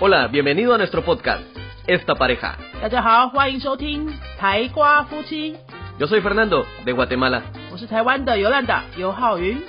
Hola, bienvenido a nuestro podcast, Esta Pareja. 大家好，欢迎收听台瓜夫妻。 Yo soy Fernando, de Guatemala. 我是台湾的尤兰达尤浩云。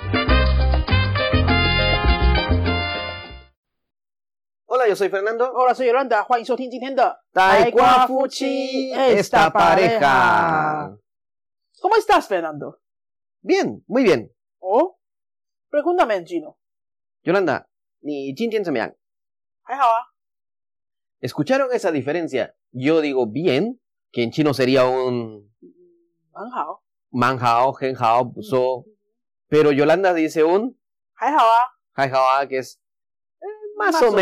Hola, yo soy Fernando. Hola, soy Yolanda， 欢迎收听今天的 Taekwa Fuchi, esta pareja. ¿Cómo estás, Fernando? Bien, muy bien. Oh, pregúntame en chino. Yolanda, 你今天怎么样？ 还好啊。 ¿Escucharon esa diferencia? Yo digo bien, que en chino sería un 很好。 manjao, genjao, buso. Pero Yolanda dice un 还好啊。 jaijaoa, que es más o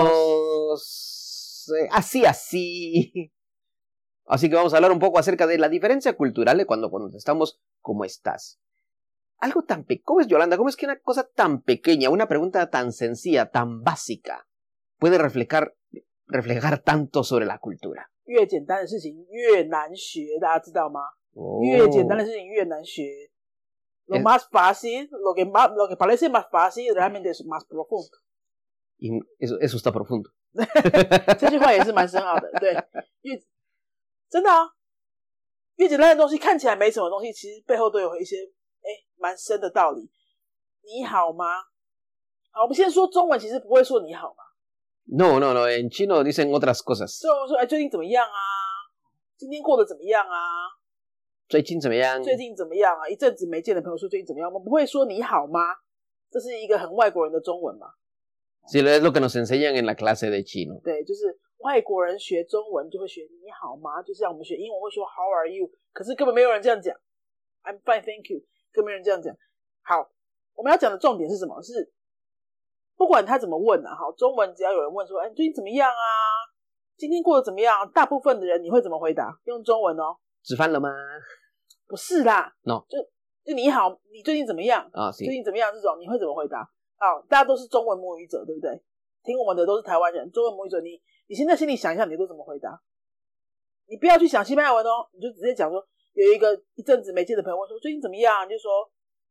menos así. Así que vamos a hablar un poco acerca de la diferencia cultural de cuando estamos ¿cómo estás? Algo tan ¿cómo es, Yolanda? ¿Cómo es que una cosa tan pequeña, una pregunta tan sencilla, tan básica, puede reflejar tanto sobre la cultura? 越简单的事情越难学，大家知道吗？越简单的事情越难学。Lo más fácil, lo que parece más fácil, realmente es más profundo. Y eso está profundo. 这句话也是蛮深奥的，对，真的啊，越简单的东西看起来没什么东西，其实背后都有一些蛮深的道理。你好吗？好，我们先说中文，其实不会说你好吗？ No, en chino dicen otras cosas. 所以我们说，最近怎么样啊？今天过得怎么样啊？ 最近怎么样？ 最近怎么样啊？一阵子没见的朋友说最近怎么样？我们不会说你好吗？这是一个很外国人的中文嘛。 Sí, es lo que nos enseñan en la clase de chino. 对，就是外国人学中文就会学你好吗？就像我们学英文会说 How are you？ 可是根本没有人这样讲 I'm fine, thank you， 根本没有人这样讲。好，我们要讲的重点是什么？是不管他怎么问啊，好，中文只要有人问说，你最近怎么样啊？今天过得怎么样？大部分的人你会怎么回答？用中文哦。 吃饭了吗？ 不是啦 ，no， 就你好，你最近怎么样？ 啊， 最近怎么样？这种你会怎么回答？好，大家都是中文母语者，对不对？听我们的都是台湾人，中文母语者，你现在心里想一下，你都怎么回答？你不要去想西班牙文哦，你就直接讲说，有一阵子没见的朋友问说最近怎么样？你就说，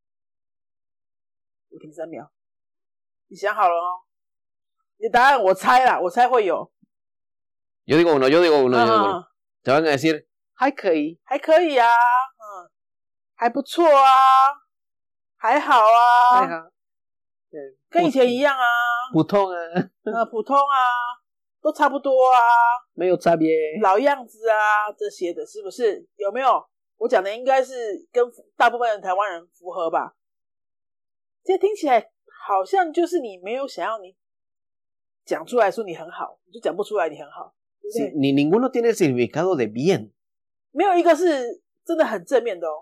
我停3秒，你想好了哦。你的答案我猜啦，我猜会有。 Yo digo uno. Te van a decir 还可以， 还可以啊，还不错啊，还好啊， 还好。 跟以前一样啊， 普通啊， 普通啊，都差不多啊， 没有差别， 老样子啊，这些的是不是？有没有？我讲的应该是跟大部分的台湾人符合吧？这听起来好像就是你没有想要你讲出来说你很好，你就讲不出来你很好，对不对？ Sí, ni ninguno tiene el significado de bien. 没有一个是真的很正面的哦。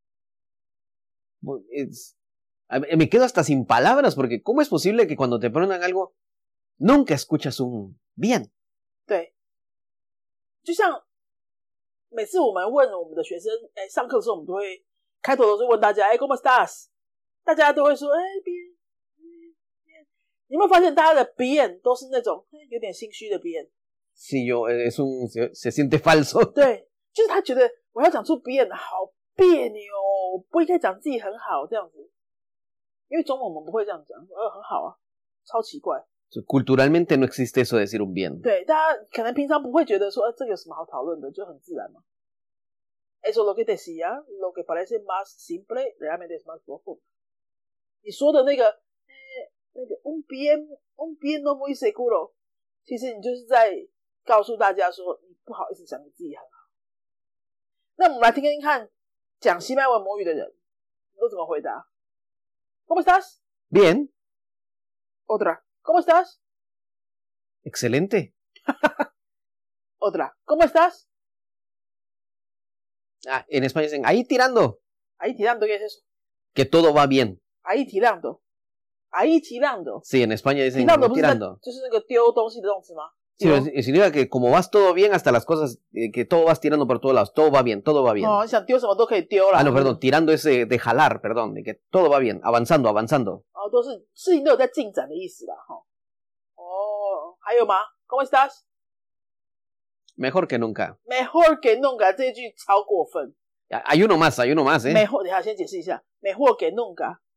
Me quedo hasta sin palabras porque ¿cómo es posible que cuando te preguntan algo nunca escuchas un bien? 对，就像每次我们问我们的学生，上课的时候我们都会开头都是问大家，¿Cómo estás？ 大家都会说bien。你有没有发现大家的 bien 都是那种有点心虚的 bien？ Sí, se siente falso. 对，就是他觉得我要讲出 bien 好别扭，不应该讲自己很好这样子。 因为中文我们不会这样讲，很好啊，超奇怪。 Culturalmente no existe eso de decir un bien. 对，大家可能平常不会觉得说，这个有什么好讨论的，就很自然嘛。Eso lo que decía, lo que parece más simple, realmente es más profundo。你说的那个un bien no muy seguro， 其实你就是在告诉大家说，你不好意思讲你自己很好。那我们来听听看，讲西班牙文母语的人都怎么回答。 ¿Cómo estás? Bien. Otra. ¿Cómo estás? Excelente. Otra. ¿Cómo estás? En español dicen, ahí tirando. Ahí tirando, ¿qué es eso? Que todo va bien. Ahí tirando. Ahí tirando. Sí, en España dicen tirando. 就是那个丢东西的动词吗？ Sí, significa que como vas todo bien hasta las cosas, que todo vas tirando por todos lados, todo va bien, todo va bien. 哦，想丢什么都可以丢啦。 No, perdón, tirando es de jalar, perdón, de que todo va bien, avanzando. 哦，都是事情都有在进展的意思啦，哈。哦，还有吗 ？¿Cómo estás? Mejor que nunca. Mejor que nunca 这一句超过分。 Hay uno más, ¿eh? Mejor， 等一下先解释一下 ，Mejor que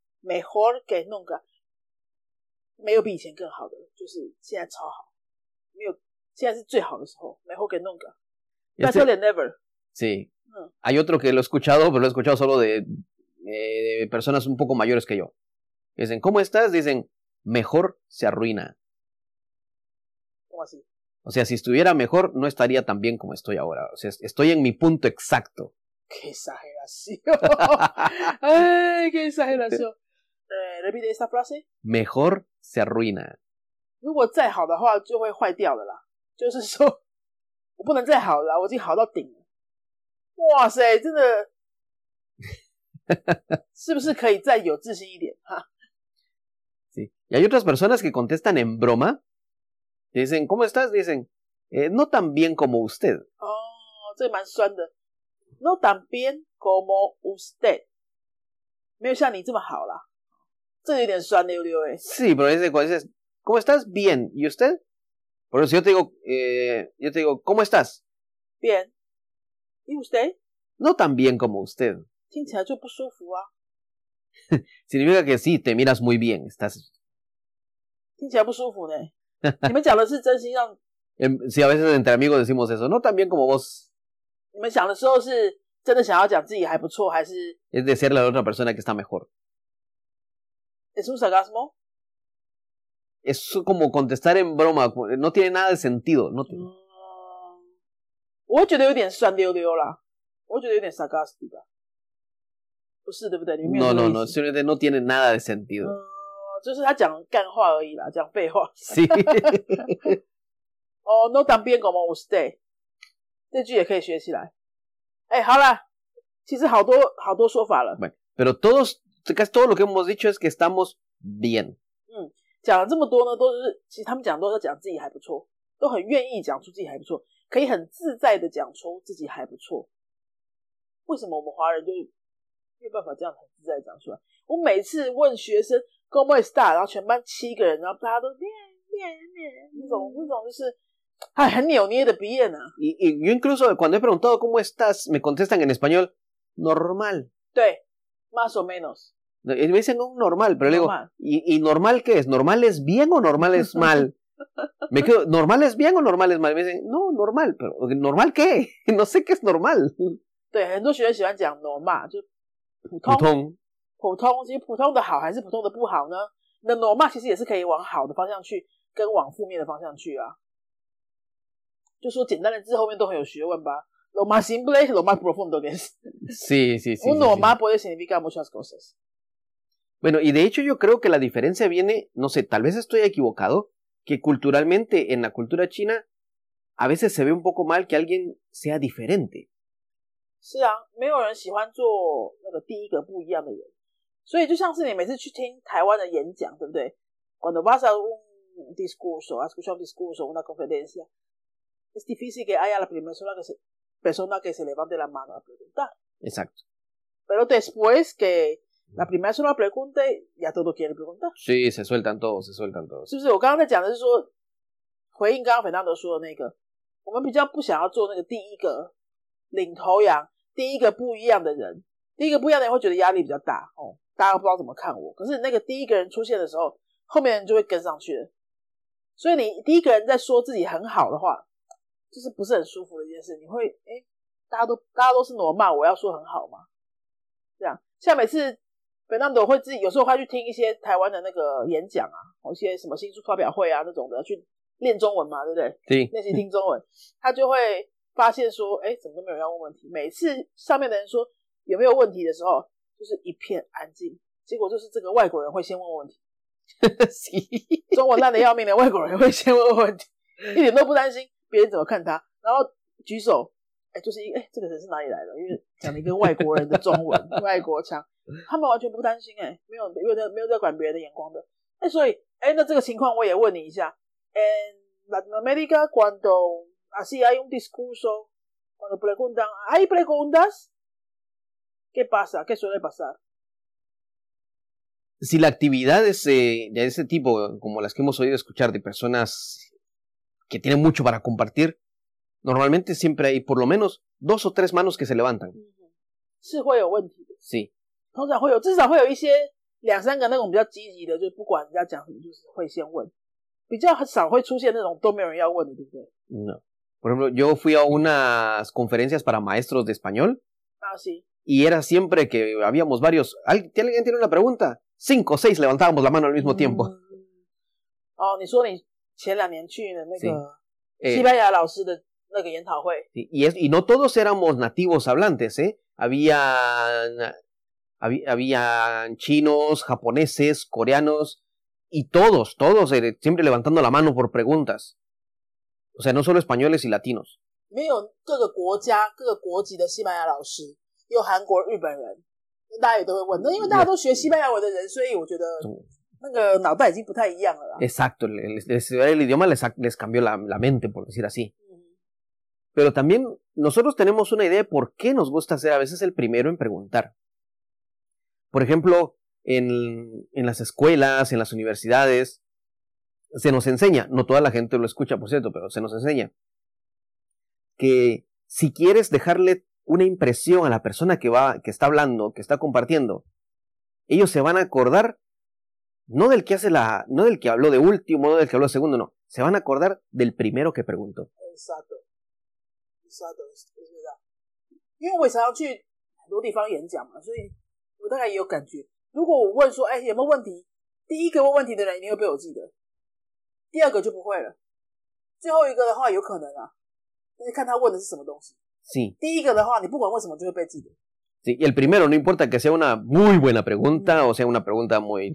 nunca，Mejor que nunca， 没有比以前更好的，就是现在超好。 没有，现在是最好的时候，mejor que nunca，better than never。 Sí. Hay otro que lo he escuchado, pero lo he escuchado solo de personas un poco mayores que yo. Dicen, ¿cómo estás? Dicen, mejor se arruina. ¿Cómo así? O sea, si estuviera mejor, no estaría tan bien como estoy ahora. O sea, estoy en mi punto exacto. ¡Qué exageración! ¡Ay, qué exageración! Repite esta frase. Mejor se arruina. 如果再好的话，就会坏掉了啦。就是说，我不能再好了，我已经好到顶了。哇塞，真的，是不是可以再有自信一点？哈。 Sí. Y hay otras personas que contestan en broma. Dicen, ¿cómo estás? Dicen, no tan bien como usted. 哦，这个蛮酸的。No tan bien como usted， 没有像你这么好啦。这个有点酸溜溜诶。 Sí, pero dices, ¿cómo estás? Bien. ¿Y usted? Por eso yo te digo, ¿cómo estás? Bien. ¿Y usted? No tan bien como usted. 听起来就不舒服啊。 Significa que sí, te miras muy bien. Estás. 听起来不舒服呢。你们讲的是真心让。 Sí, a veces entre amigos decimos eso. No tan bien como vos. 你们想的时候是真的想要讲自己还不错，还是 Es decirle a la otra persona que está mejor. ¿Es un sarcasmo? Es como contestar en broma. No tiene nada de sentido. No tiene. 我会觉得有点酸溜溜啦，我会觉得有点 sarcastic 吧，不是对不对？你没有 No, simplemente no tiene nada de sentido. 就是他讲干话而已啦，讲废话。 Sí. 哦 ，no tan bien como usted， 这句也可以学起来。哎，好啦，其实好多说法了。 Bueno, pero casi todo lo que hemos dicho es que estamos bien. 讲了这么多呢，都是其实他们讲都是讲自己还不错，都很愿意讲出自己还不错，可以很自在的讲出自己还不错。为什么我们华人就没有办法这样很自在的讲出来？我每次问学生 ¿Cómo está？ 然后全班7个人，然后大家都念那种就是很扭捏的鼻音啊。 Y yo incluso cuando he preguntado ¿cómo estás? Me contestan en español normal. 对 más o menos. Me dicen normal, pero normal. Le digo, ¿y normal qué es? ¿Normal es bien o normal es mal? Me quedo, ¿normal es bien o normal es mal? Me dicen, no, normal, pero ¿normal qué? No sé qué es normal. 对，很多学生喜欢讲 normal， 就普通，其实普通的好还是普通的不好呢？那 normal 其实也是可以往好的方向去，跟往负面的方向去啊。就说简单的字后面都很有学问吧。Lo más simple, lo más profundo que es. Sí. Un normal puede significar muchas cosas. Bueno, y de hecho yo creo que la diferencia viene, no sé, tal vez estoy equivocado, que culturalmente en la cultura china a veces se ve un poco mal que alguien sea diferente. 是啊，没有人喜欢做那个第一个不一样的人，所以就像是你每次去听台湾的演讲，对不对？ Cuando vas a un discurso, a escuchar un discurso, una conferencia, es difícil que haya la primera persona que se levante la mano a preguntar. Exacto. Pero después que la primera persona pregunte, ya todo quiere preguntar. Sí, se sueltan todos. 是不是？我刚刚在讲的是说，回应刚刚Fernando说的那个，我们比较不想要做那个第一个领头羊，第一个不一样的人，第一个不一样的人会觉得压力比较大哦，大家不知道怎么看我。可是那个第一个人出现的时候，后面人就会跟上去了。所以你第一个人在说自己很好的话，就是不是很舒服的一件事。你会大家都是normal，我要说很好嘛？这样，像每次Fernando会自己有时候会去听一些台湾的那个演讲啊，一些什么新书发表会啊那种的，去练中文嘛，对不对？ 对， 练习听中文，他就会发现说，怎么都没有人要问问题。每次上面的人说有没有问题的时候，就是一片安静，结果就是这个外国人会先问问题。中文烂得要命的外国人会先问问题，一点都不担心别人怎么看他，然后举手，就是这个人是哪里来的？因为讲了一个外国人的中文，外国腔，他们完全不担心，没有在管别人的眼光的。所以那这个情况我也问你一下。En Latinoamérica, cuando así hay un discurso, cuando preguntan, ¿hay preguntas? ¿Qué pasa? ¿Qué suele pasar? Si la actividad es de ese tipo, como las que hemos oído escuchar de personas que tienen mucho para compartir, normalmente siempre hay por lo menos 2 o 3 manos que se levantan. 是会有问题的。 Sí. 通常至少会有一些2-3个那种比较积极的，就不管人家讲什么，就是会先问。 比较少会出现那种都没有人要问的，对不对？ No. Por ejemplo, yo fui a unas conferencias para maestros de español. Ah, sí. Y era siempre que habíamos varios. ¿Alguien tiene una pregunta? 5 o 6 levantábamos la mano al mismo tiempo. 哦，你说你前2年去的那个 Sí. 西班牙老师的那个研讨会。 Sí, y no todos éramos nativos hablantes, ¿eh? Habían chinos, japoneses, coreanos, y todos, siempre levantando la mano por preguntas. O sea, no solo españoles y latinos. 没有各个国家、各个国籍的西班牙老师，有韩国、日本人，大家也都会问。那因为大家都学西班牙文的人，所以我觉得那个脑袋已经不太一样了啦。 Exacto, el idioma les cambió la mente, por decir así. Pero también nosotros tenemos una idea de por qué nos gusta ser a veces el primero en preguntar. Por ejemplo, en las escuelas, en las universidades, se nos enseña, no toda la gente lo escucha, por cierto, pero se nos enseña que si quieres dejarle una impresión a la persona que está hablando, que está compartiendo, ellos se van a acordar no del que habló de último, no del que habló de segundo, no, se van a acordar del primero que preguntó. Exacto, 是的，因为我也常常去很多地方演讲嘛，所以我大概也有感觉。如果我问说，哎，有没有问题？第一个问问题的人一定会被我记得，第二个就不会了，最后一个的话有可能啊，但是看他问的是什么东西。 Sí. 第一个的话，你不管问什么就会被记得。 Sí, y el primero, no importa que sea una muy buena pregunta o sea una pregunta muy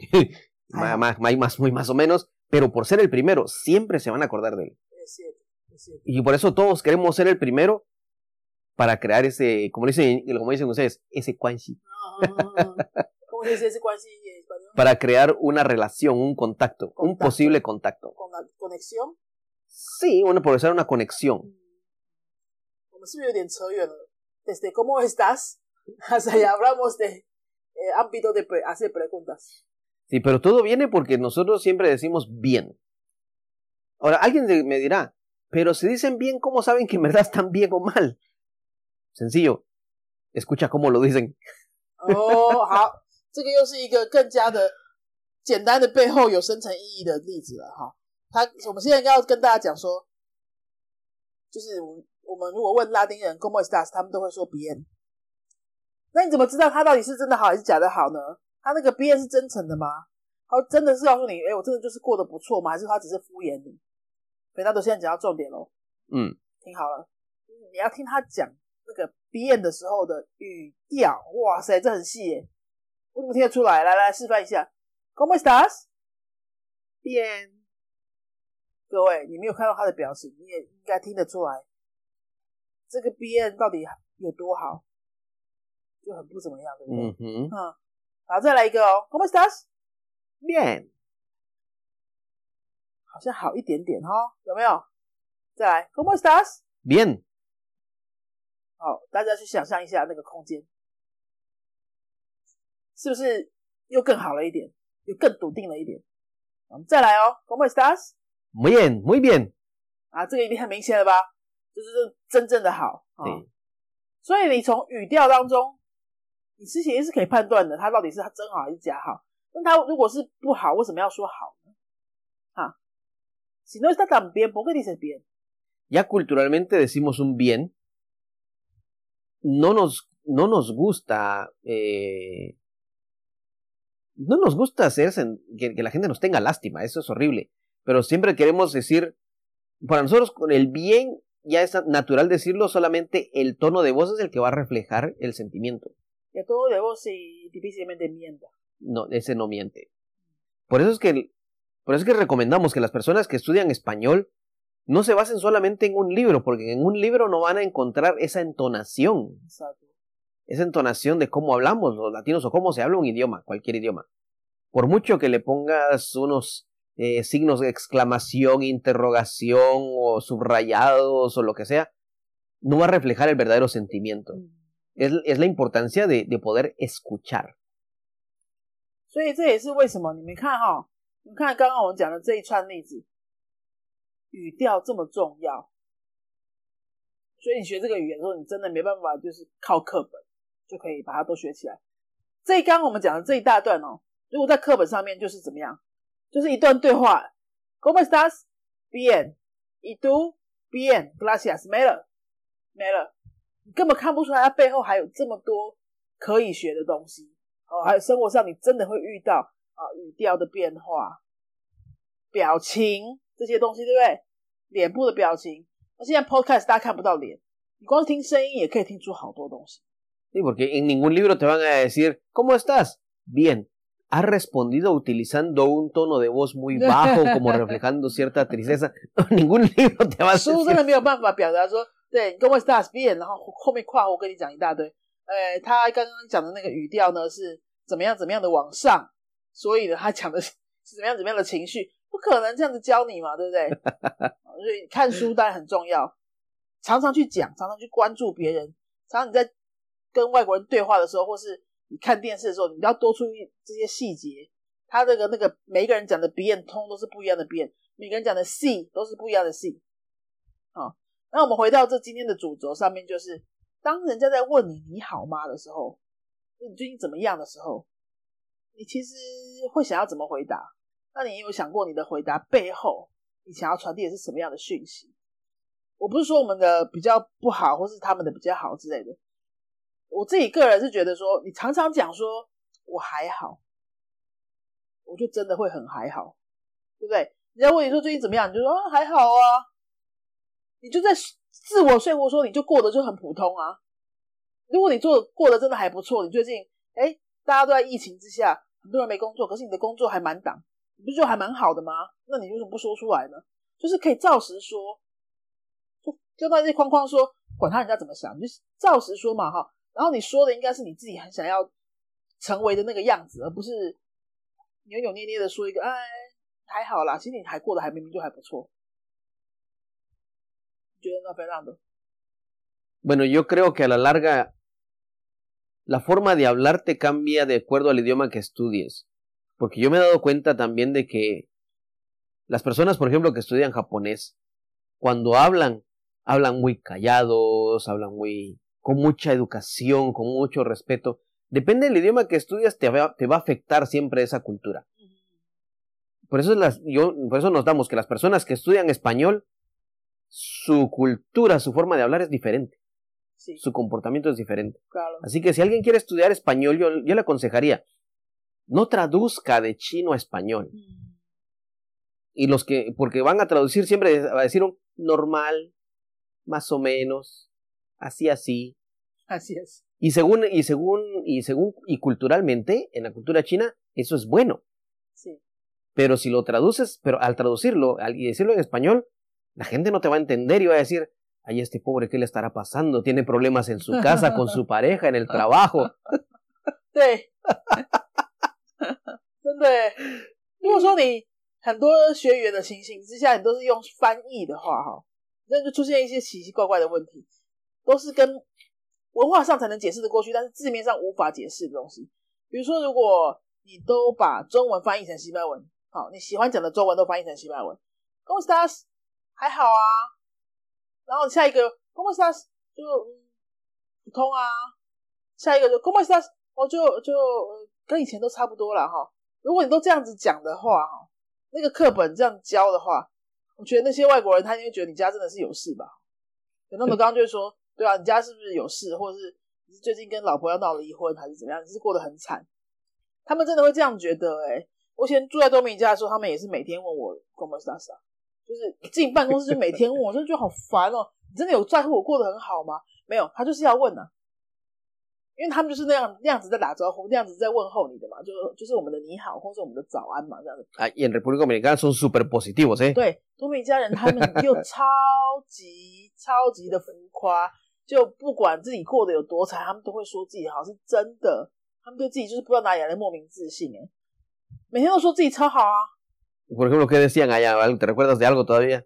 más o menos, pero por ser el primero, siempre se van a acordar de él. Es cierto. Y por eso todos queremos ser el primero para crear ese, como dicen ustedes, ese quanxi. ¿Cómo se dice ese quanxi en español? Para crear una relación, un contacto, un posible contacto. ¿Con la conexión? Sí, por ser una conexión. 我们是不是有点扯远了？ Desde cómo estás hasta ya hablamos de ámbito de hacer preguntas. Sí, pero todo viene porque nosotros siempre decimos bien. Ahora, alguien me dirá, pero si dicen bien, ¿cómo saben que en verdad están bien o mal? Sencillo, escucha cómo lo dicen. 哦，好，这个又是一个更加的简单的背后有深层意义的例子了哈。我们现在要跟大家讲说，就是我们如果问拉丁人 ¿Cómo estás？ 他们都会说 bien。那你怎么知道他到底是真的好还是假的好呢？他那个 bien 是真诚的吗？他真的是告诉你，我真的就是过得不错吗？还是他只是敷衍你？Fernando 现在讲到重点咯。听好了，你要听他讲那个 bien 的时候的语调，哇塞，这很细耶，我怎么听得出来？来示范一下 ¿Cómo estás？ Bien。 各位，你没有看到他的表情，你也应该听得出来，这个 bien 到底有多好，就很不怎么样，对不对？好，再来一个哦 ¿Cómo estás？ Bien。 好像好一点点哦，有没有？再来 ¿Cómo estás？ Bien。 好，大家去想象一下那个空间，是不是又更好了一点，又更笃定了一点？我们再来哦 ¿Cómo estás？ Muy bien, muy bien。 啊，这个一定很明显了吧？就是真正的好。所以你从语调当中，你其实是可以判断的，它到底是真好还是假好。那它如果是不好，为什么要说好呢？Si no está tan bien, ¿por qué dices bien? Ya culturalmente decimos un bien. No nos gusta no nos gusta que la gente nos tenga lástima, eso es horrible. Pero siempre queremos decir, para nosotros con el bien ya es natural decirlo, solamente el tono de voz es el que va a reflejar el sentimiento. El tono de voz sí, difícilmente mienta. No, ese no miente. Por eso es que recomendamos que las personas que estudian español no se basen solamente en un libro, porque en un libro no van a encontrar esa entonación. Exacto. Esa entonación de cómo hablamos los latinos o cómo se habla un idioma, cualquier idioma. Por mucho que le pongas unos signos de exclamación, interrogación o subrayados o lo que sea, no va a reflejar el verdadero sentimiento. Es la importancia de poder escuchar. 所以这也是为什么你们看刚刚我们讲的这一串例子，语调这么重要。所以你学这个语言的时候，你真的没办法就是靠课本就可以把它都学起来。这刚刚我们讲的这一大段哦，如果在课本上面就是怎么样，就是一段对话 ¿Cómo estás? Bien.¿Y tú? Bien. Gracias.没了。你根本看不出来它背后还有这么多可以学的东西。还有生活上你真的会遇到语调的变化、表情这些东西，对不对？脸部的表情。那现在 podcast 大家看不到脸，你光是听声音也可以听出好多东西。 Sí, porque en ningún libro te van a decir, ¿cómo estás? Bien. Has respondido utilizando un tono de voz muy bajo, como reflejando cierta tristeza. Ningún libro te va a decir. 书真的没有办法表达说，对 ¿cómo estás? Bien， 然后后面括弧跟你讲一大堆。他刚刚讲的那个语调呢是怎么样的往上，所以呢他讲的是怎么样的情绪，不可能这样子教你嘛，对不对？所以看书当然很重要，常常去讲，常常去关注别人，常常你在跟外国人对话的时候，或是你看电视的时候，你要多注意这些细节。他那个每一个人讲的 bien 通都是不一样的 bien， 每个人讲的 si 都是不一样的 si。好，那我们回到这今天的主轴上面，就是当人家在问你好吗的时候，你最近怎么样的时候，你其实会想要怎么回答？那你有想过你的回答背后你想要传递的是什么样的讯息？我不是说我们的比较不好，或是他们的比较好之类的。我自己个人是觉得说，你常常讲说我还好，我就真的会很还好，对不对？人家问你说最近怎么样，你就说还好啊，你就在自我说服说你就过得就很普通啊。如果你过得真的还不错，你最近大家都在疫情之下，很多人没工作，可是你的工作还满档，你不是就还蛮好的吗？那你为什么不说出来呢？就是可以照实说，就在这框框说，管他人家怎么想，你就照实说嘛哈。然后你说的应该是你自己很想要成为的那个样子，而不是扭扭捏捏的说一个还好啦，其实你还过得还明明就还不错。你觉得呢，Fernando? Bueno, yo creo que a la larga la forma de hablar te cambia de acuerdo al idioma que estudies. Porque yo me he dado cuenta también de que las personas, por ejemplo, que estudian japonés, cuando hablan muy callados, hablan con mucha educación, con mucho respeto. Depende del idioma que estudias, te va a afectar siempre esa cultura. Por eso nos damos que las personas que estudian español, su cultura, su forma de hablar es diferente. Sí. Su comportamiento es diferente. Claro. Así que si alguien quiere estudiar español, yo le aconsejaría, no traduzca de chino a español. Y porque van a traducir siempre, va a decir un normal, más o menos, así. Así es. Y culturalmente, en la cultura china, eso es bueno. Sí. Pero si lo traduces, pero al traducirlo y decirlo en español, la gente no te va a entender y va a decir, ay, este pobre, ¿qué le estará pasando? Tiene problemas en su casa, con su pareja, en el trabajo. 对，真的耶。如果说你很多学语言的情形之下，你都是用翻译的话，那就出现一些奇奇怪怪的问题，都是跟文化上才能解释的过去，但是字面上无法解释的东西。比如说，如果你都把中文翻译成西班牙文，好，你喜欢讲的中文都翻译成西班牙文 ，¿Cómo estás？ 还好啊。然后下一个 ¿Cómo estás？ 就普通啊。下一个就 ¿Cómo estás？ 就跟以前都差不多啦哈。如果你都这样子讲的话，那个课本这样教的话，我觉得那些外国人他一定会觉得你家真的是有事吧。那么刚刚就会说，对啊，你家是不是有事，或者是你最近跟老婆要闹离婚，还是怎么样？你是过得很惨，他们真的会这样觉得我以前住在多米家的时候，他们也是每天问我 ¿Cómo estás？ 就是进办公室就每天问我，真的觉得好烦哦。你真的有在乎我过得很好吗？没有，他就是要问啊。因为他们就是那样子在打招呼，那样子在问候你的嘛，就是我们的你好，或是我们的早安嘛，这样子。 Y en República Dominicana son súper positivos, 对，多米加人他们又超级的浮夸，就不管自己过得有多惨，他们都会说自己好，是真的。他们对自己就是不知道哪里来的莫名自信每天都说自己超好啊。 Por ejemplo, ¿qué decían allá? ¿Te recuerdas de algo todavía?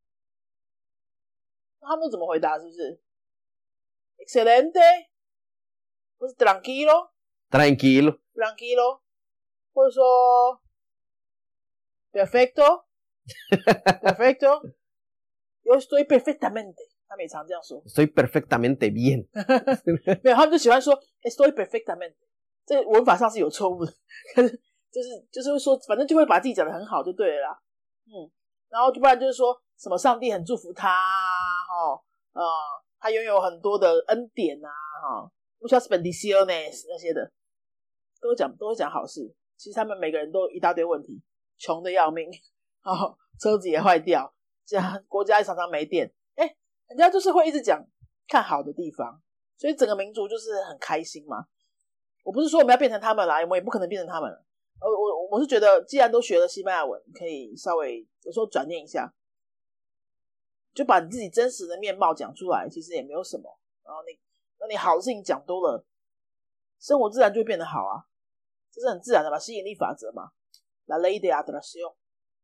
他们都怎么回答？是不是 ？Excelente。或是 tranquilo， 或者说 perfecto， yo estoy perfectamente， 他们也常这样说。 Estoy perfectamente bien。 没有，他们就喜欢说 estoy perfectamente， 这文法上是有错误的，可是就是会说，反正就会把自己讲得很好就对了啦。 然后就不然就是说什么上帝很祝福他他拥有很多的恩典muchas bendiciones 那些的，都会讲好事。其实他们每个人都一大堆问题，穷的要命车子也坏掉，这样国家也常常没电，人家就是会一直讲看好的地方，所以整个民族就是很开心嘛。我不是说我们要变成他们啦，我们也不可能变成他们了。我是觉得既然都学了西班牙文，可以稍微有时候转念一下，就把你自己真实的面貌讲出来，其实也没有什么。然后你好的事情讲多了，生活自然就会变得好啊，这是很自然的嘛，吸引力法则嘛。La ley de atracción。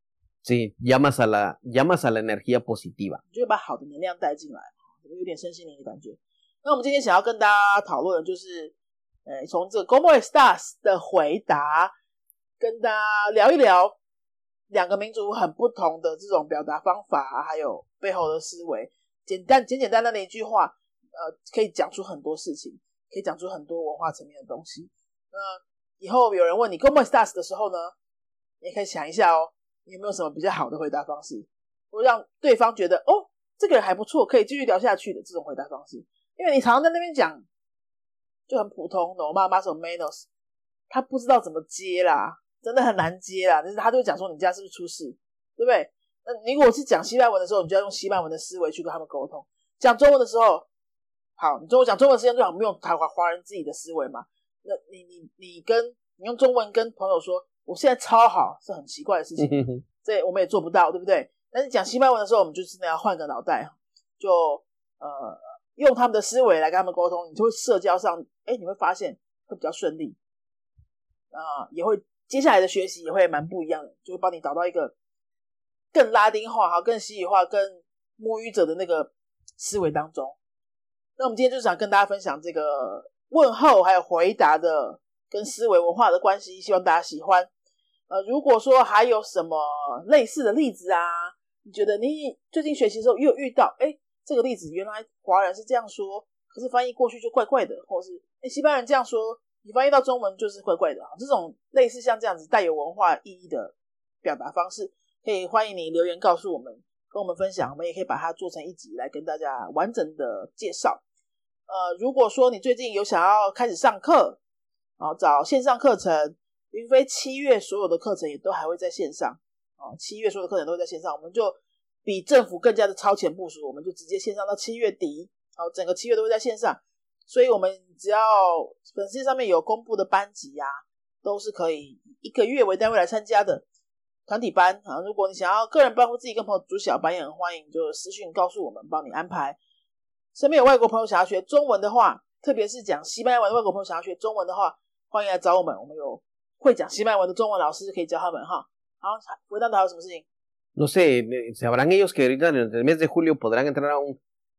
Sí, llamas a la energía positiva. 你就会把好的能量带进来，有点身心灵的感觉。那我们今天想要跟大家讨论的就是，从这个 ¿Cómo estás 的回答，跟大家聊一聊两个民族很不同的这种表达方法，还有背后的思维。简单的一句话，可以讲出很多事情，可以讲出很多文化层面的东西。以后有人问你 ¿Cómo estás 的时候呢，你也可以想一下你有没有什么比较好的回答方式，或让对方觉得这个人还不错，可以继续聊下去的这种回答方式。因为你常常在那边讲就很普通 no más o menos， 他不知道怎么接啦，真的很难接啦，但是他就会讲说你家是不是出事，对不对？那你如果是讲西班牙文的时候，你就要用西班牙文的思维去跟他们沟通。讲中文的时候，好，你讲中文时间最好不用华人自己的思维嘛。那你用中文跟朋友说我现在超好，是很奇怪的事情，这我们也做不到，对不对？但是讲西班牙文的时候，我们就真的要换个脑袋，就用他们的思维来跟他们沟通，你就会社交上你会发现会比较顺利也会接下来的学习也会蛮不一样的，就会帮你导到一个更拉丁化更西语化更母语者的那个思维当中。那我们今天就想跟大家分享这个问候还有回答的跟思维文化的关系，希望大家喜欢。如果说还有什么类似的例子你觉得你最近学习的时候又有遇到这个例子原来华人是这样说，可是翻译过去就怪怪的，或者是西班牙人这样说，你翻译到中文就是怪怪的，这种类似像这样子带有文化意义的表达方式，可以欢迎你留言告诉我们，跟我们分享，我们也可以把它做成一集来跟大家完整的介绍。如果说你最近有想要开始上课找线上课程，云飞7月所有的课程也都还会在线上7月所有的课程都会在线上，我们就比政府更加的超前部署，我们就直接线上到7月底整个7月都会在线上，所以我们只要粉丝上面有公布的班级都是可以以1个月为单位来参加的团体班如果你想要个人班或自己跟朋友组小班也很欢迎，就私讯告诉我们帮你安排。身边有外国朋友想要学中文的话，特别是讲西班牙文的外国朋友想要学中文的话，欢迎来找我们，我们有会讲西班牙文的中文老师可以教他们好，回答还有什么事情 ？No sé, sabrán ellos que ahorita en el mes de julio podrán entrar a un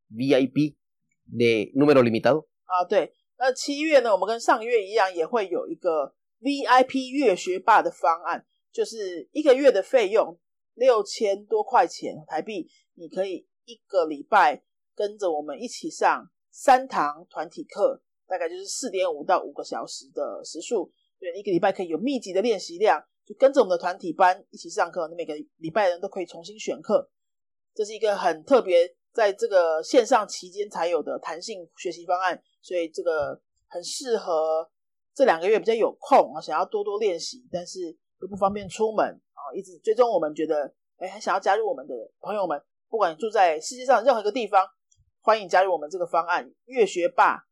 VIP de número limitado. 对，那7月呢，我们跟上个月一样，也会有一个 VIP 月学霸的方案，就是1个月的费用6000多块钱台币，你可以1个礼拜跟着我们一起上3堂团体课，大概就是 4.5 到5个小时的时数，对，1个礼拜可以有密集的练习量，就跟着我们的团体班一起上课，每个礼拜人都可以重新选课，这是一个很特别在这个线上期间才有的弹性学习方案，所以这个很适合这2个月比较有空想要多多练习，但是又不方便出门一直追踪我们，觉得很想要加入我们的朋友们，不管你住在世界上任何一个地方，欢迎加入我们这个方案月学霸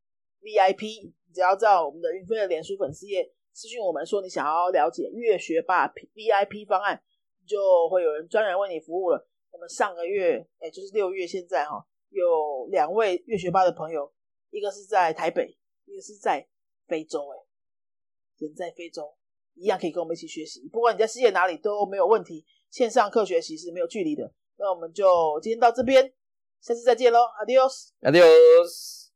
VIP， 只要在我们的云飞的脸书粉丝页私讯我们说你想要了解月学霸 VIP 方案，就会有人专人为你服务了。我们上个月就是6月现在有2位月学霸的朋友，一个是在台北，一个是在非洲人在非洲一样可以跟我们一起学习，不管你在世界哪里都没有问题，线上课学习是没有距离的。那我们就今天到这边，下次再见咯 Adiós Adiós。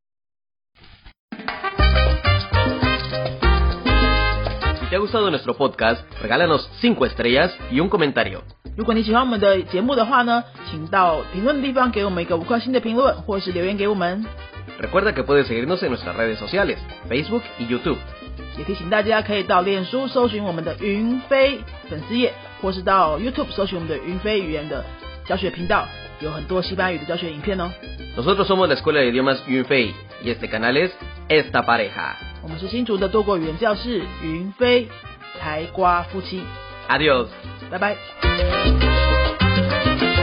Si te ha gustado nuestro podcast, regálanos 5 estrellas y un comentario. 如果你喜欢我们的节目的话呢，请到评论的地方给我们一个5颗星的评论，或是留言给我们。 Recuerda que puedes seguirnos en nuestras redes sociales, Facebook y YouTube. 也提醒大家可以到脸书搜寻我们的云飞粉丝页，或或是到 YouTube 搜寻我们的云飞语言的教学频道，有很多西班牙语的教学影片哦。 Nosotros somos la Escuela de Idiomas Yunfei y este canal es Esta Pareja. 我们是新竹的多国语言教室云飞台瓜夫妻。 Adiós. 拜拜。